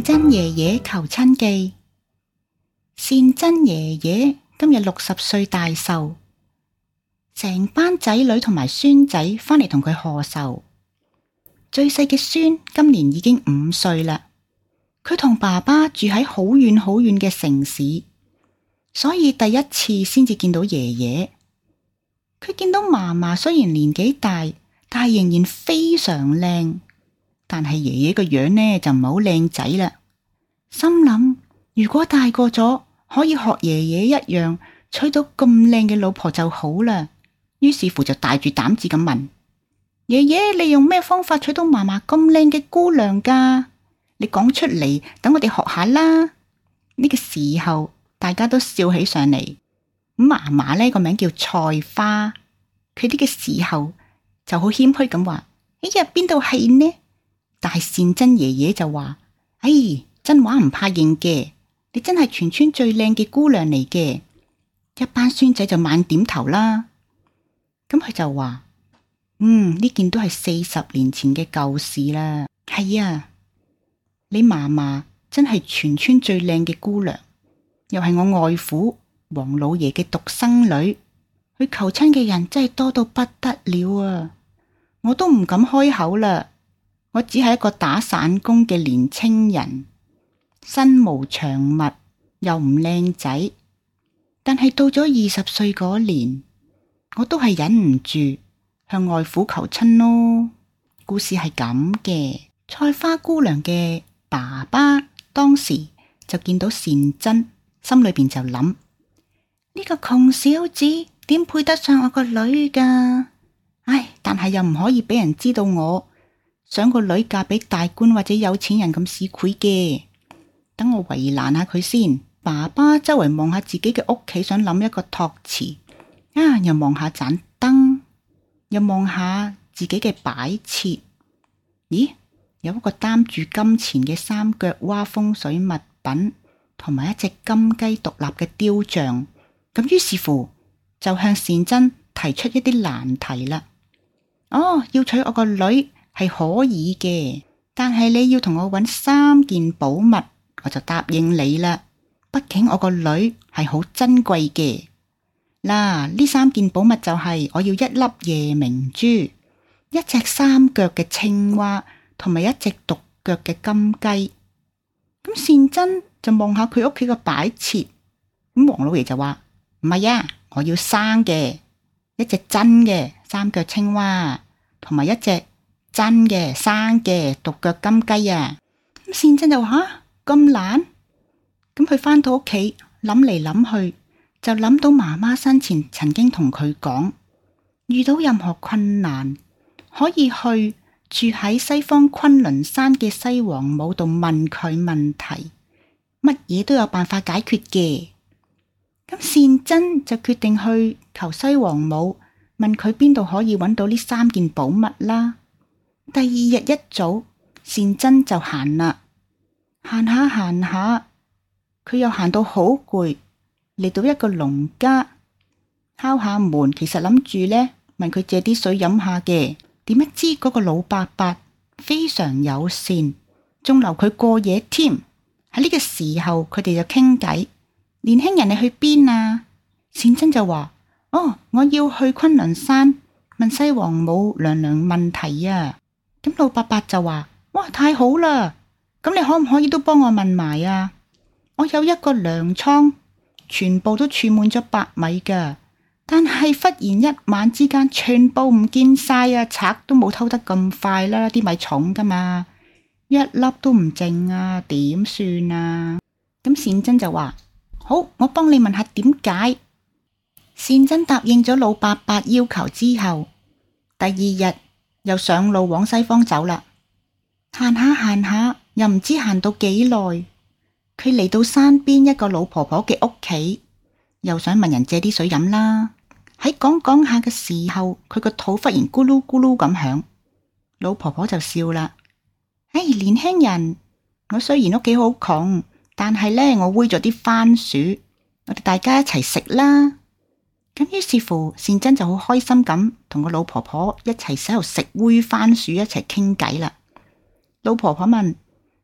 真爺爺求親記。善真爺爺今日60歲大壽，成班仔女同埋孫仔返嚟同佢賀壽。最細嘅孫今年已經5歲啦。佢同爸爸住喺好遠好遠嘅城市，所以第一次先至見到爺爺。佢見到嫲嫲雖然年紀大，但係仍然非常靚。但係爺爺個樣呢就唔係好靚仔啦。心諗如果大個咗可以學爺爺一樣娶到咁靚嘅老婆就好啦。於是乎就大住膽子咁問爺爺：你用咩方法娶到嫲嫲咁靚嘅姑娘㗎？你講出嚟，等我哋學下啦。呢個時候大家都笑起上嚟。嫲嫲呢個名叫菜花，佢呢個時候就好謙虛咁話：哎呀，邊度係呢？但係善真爺爺就話：哎，真話唔怕認嘅，你真係全村最靚嘅姑娘嚟嘅。一班孫仔就猛點頭啦。咁佢就話：呢件都係40年前嘅舊事啦。係啊，你嫲嫲真係全村最靚嘅姑娘，又係我外父黃老爺嘅獨生女，佢求親嘅人真係多到不得了啊！我都唔敢開口啦。我只係一個打散工嘅年青人，身無長物，又唔靚仔，但係到咗20歲嗰年，我都係忍唔住向外父求親咯。故事係咁嘅，菜花姑娘嘅爸爸當時就見到善真，心裏邊就諗：呢個窮小子點配得上我個女㗎？唉，但係又唔可以俾人知道我想個女嫁俾大官或者有錢人咁市儈嘅，等我為難下佢先。爸爸周圍望下自己嘅屋企，想諗一個託詞。又望下盞燈，又望下自己嘅擺設。咦，有一個擔住金錢嘅三腳蛙風水物品，同埋一隻金雞獨立嘅雕像。咁於是乎就向善真提出一啲難題啦。要娶我個女係可以嘅，但係你要同我揾3件寶物，我就答應你啦。畢竟我個女係好珍貴嘅。嗱，呢3件寶物就係我要1粒夜明珠，一隻3腳嘅青蛙，同埋一隻獨腳嘅金雞。咁善真就望下佢屋企嘅擺設，咁黃老爺就話：唔係啊，我要生嘅，一隻真嘅3腳青蛙，同埋一隻真嘅生嘅獨腳金雞啊！咁善真就話：咁難？咁佢返到屋企諗嚟諗去，就諗到媽媽生前曾經同佢講，遇到任何困難可以去住喺西方崑崙山嘅西王母度問佢問題，乜嘢都有辦法解決嘅。咁善真就決定去求西王母，問佢邊度可以揾到呢3件寶物啦。第2日一早，善真就行啦，行下，佢又行到好攰，嚟到一個農家，敲下門，其實諗住呢問佢借啲水飲下嘅，點不知嗰個老伯伯非常友善，仲留佢過夜添。喺呢個時候，佢哋就傾偈。年輕人，你去邊啊？善真就話：我要去崑崙山問西王母娘娘問題啊。咁老伯伯就話：哇，太好啦！咁你可唔可以都幫我問埋啊？我有一個糧倉，全部都儲滿咗白米噶，但係忽然一晚之間全部唔見晒啊！賊都冇偷得咁快啦，啲米重噶嘛，一粒都唔剩啊，點算啊？咁善真就話：好，我幫你問下點解。善真答應咗老伯伯要求之後，第2日又上路往西方走啦。行下，又唔知行到幾耐，佢嚟到山邊一個老婆婆嘅屋企，又想問人借啲水飲啦。喺講下嘅時候，佢個肚忽然咕嚕咕嚕咁響，老婆婆就笑啦：唉，年輕人，我雖然屋企好窮，但係呢，我煨咗啲番薯，我哋大家一齊食啦。咁於是乎，善真就好開心咁同個老婆婆一齊喺度食煨番薯，一齊傾偈啦。老婆婆問：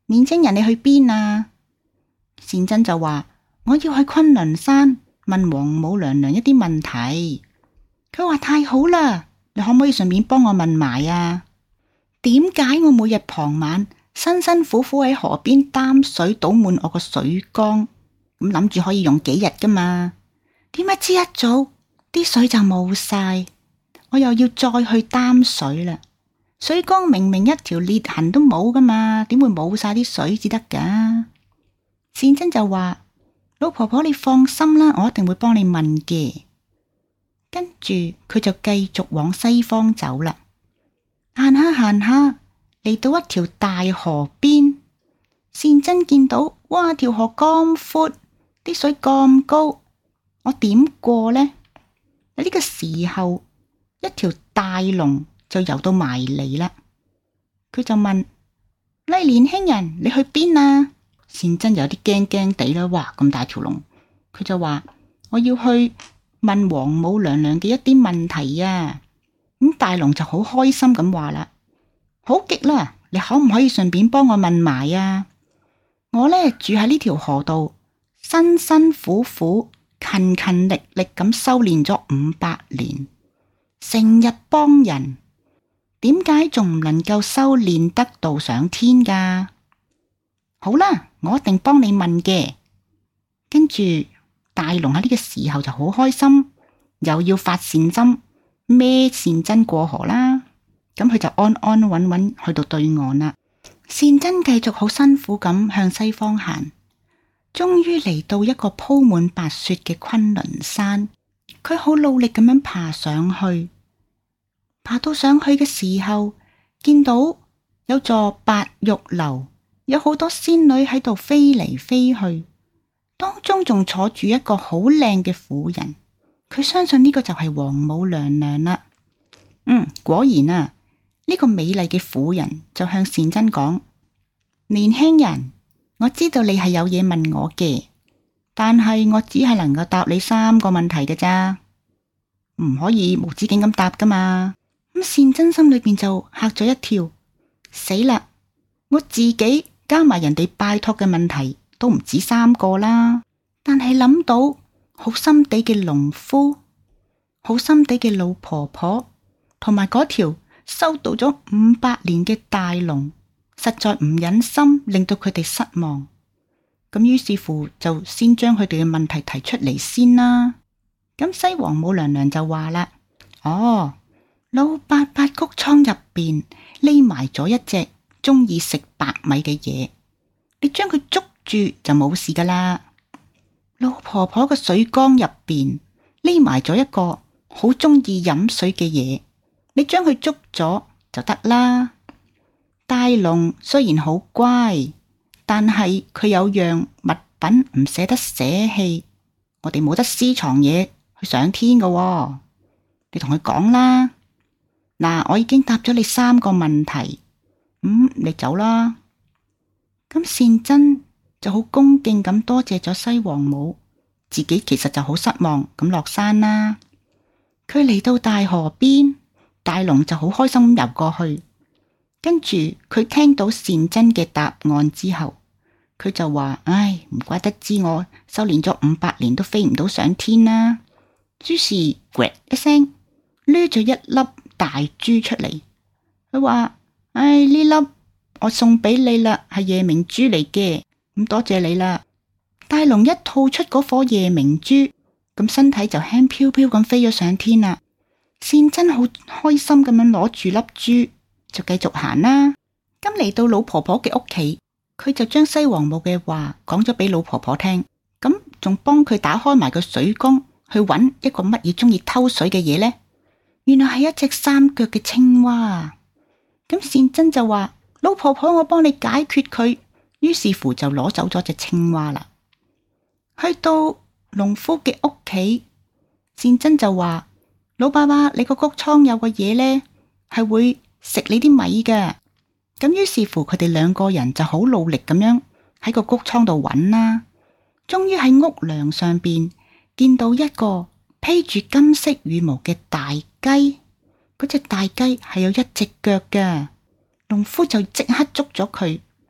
年青人，你去邊啊？善真就話：我要去昆崙山問王母娘娘一啲問題。佢話：太好啦，你可唔可以順便幫我問埋啊？點解我每日傍晚辛辛苦苦喺河邊擔水倒滿我個水缸，咁諗住可以用幾日噶嘛？點解知一早啲水就冇晒，我又要再去擔水啦？水缸明明一條裂痕都冇噶嘛，點會冇晒啲水至得噶？善真就話：老婆婆，你放心啦，我一定會幫你問嘅。跟住佢就繼續往西方走啦。行下行下，嚟到一條大河邊，善真見到，哇，條河咁闊，啲水咁高，我點過呢？喺呢個時候，一條大龍就游到埋嚟啦。佢就問：喂，年輕人，你去邊啊？善真有啲驚驚地啦，哇，咁大條龍。佢就話：我要去問王母娘娘嘅一啲問題啊。咁大龍就好開心咁話啦：好極啦，你可唔可以順便幫我問埋啊？我呢住喺呢條河度，辛辛苦苦、勤勤力力咁修煉咗500年，成日幫人，點解仲唔能夠修煉得道上天噶？好啦，我一定幫你問嘅。跟住大龍喺呢個時候就好開心，又要發善針，孭善真過河啦。咁佢就安安穩穩去到對岸啦。善真繼續好辛苦咁向西方行，終於嚟到一個鋪滿白雪嘅昆崙山。佢好努力咁樣爬上去，爬到上去嘅時候，見到有座白玉樓，有好多仙女喺度飛嚟飛去，當中仲坐住一個好靚嘅婦人。佢相信呢個就係王母娘娘啦。果然啊，呢個美麗嘅婦人就向善真講：年輕人，我知道你係有嘢問我嘅，但係我只係能夠答你3個問題嘅咋，唔可以無止境咁答噶嘛。咁善真心裏邊就嚇咗一跳，死啦！我自己加埋人哋拜託嘅問題都唔止3個啦，但係諗到好心地嘅農夫、好心地嘅老婆婆，同埋嗰條修道咗500年嘅大龍，實在唔忍心令到佢哋失望。咁於是乎就先將佢哋嘅問題提出嚟先啦。咁西王母娘娘就話啦：哦，老伯伯谷倉入邊匿埋咗一隻中意食白米嘅嘢，你將佢捉住就冇事噶啦。老婆婆嘅水缸入邊匿埋咗一個好中意飲水嘅嘢，你將佢捉咗就得啦。大龍雖然好乖，但係佢有樣物品唔捨得捨棄，我哋冇得私藏嘢去上天噶喎。你同佢講啦。嗱，我已經答咗你3個問題，你走啦。咁善真就好恭敬咁多謝咗西王母，自己其實就好失望咁落山啦。佢嚟到大河邊，大龍就好開心游過去，跟住佢聽到善真嘅答案之後，佢就話：唉，唔怪得知我修煉咗500年都飛唔到上天啦。於是咕一聲掠咗一粒大珠出嚟，佢話：唉，呢粒我送俾你啦，係夜明珠嚟嘅，咁多謝你啦。大龍一吐出嗰顆夜明珠，咁身體就輕飄飄咁飛咗上天啦。善真好開心咁樣攞住粒珠就繼續行啦。咁嚟到老婆婆嘅屋企，佢就將西王母嘅話講咗俾老婆婆聽，咁仲幫佢打開埋個水缸去揾一個乜嘢中意偷水嘅嘢呢？原來係一隻3腳嘅青蛙。咁善真就話：老婆婆，我幫你解決佢。於是乎就攞走咗隻青蛙啦。去到農夫嘅屋企，善真就話：老伯伯，你個谷倉有個嘢呢，係會食你啲米嘅。咁於是乎佢哋2個人就好努力咁樣喺個谷倉度揾啦。終於喺屋梁上邊見到一個披住金色羽毛嘅大雞，嗰隻大雞係有1隻腳嘅。農夫就即刻捉咗佢，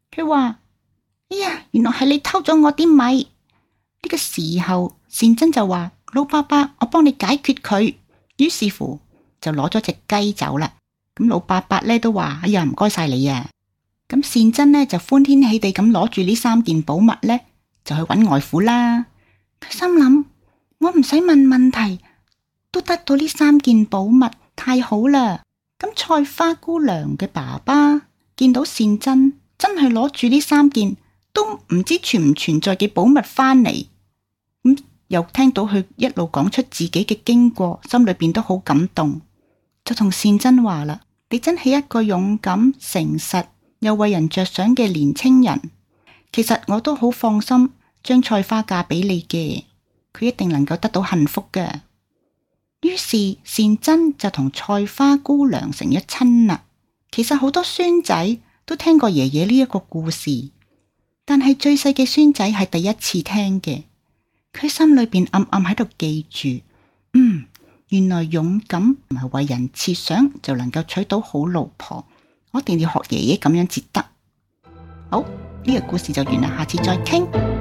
佢話：哎呀，原來係你偷咗我啲米。呢個時候，善珍就話：老伯伯，我幫你解決佢。於是乎就攞咗隻雞走啦。咁老伯伯呢都話：哎呀，唔該晒你啊。咁善珍呢就歡天喜地咁攞住呢3件寶物呢，就去揾外父啦。佢心諗：我唔使問問題，都得到呢3件寶物，太好啦！咁菜花姑娘嘅爸爸見到善珍真係攞住呢3件都唔知存唔存在嘅寶物返嚟，又聽到佢一路講出自己嘅經過，心裏邊都好感動，就同善珍話啦：你真係一個勇敢、誠實又為人着想嘅年青人。其實我都好放心將菜花嫁俾你嘅，佢一定能夠得到幸福嘅。於是善珍就同菜花姑娘成咗親啦。其實好多孫仔都聽過爺爺呢一個故事，但係最細嘅孫仔係第一次聽嘅。佢心裏邊暗暗喺度記住，原來勇敢唔係為人設想就能夠娶到好老婆，我一定要學爺爺咁樣至得。好，呢個故事就完啦，下次再傾。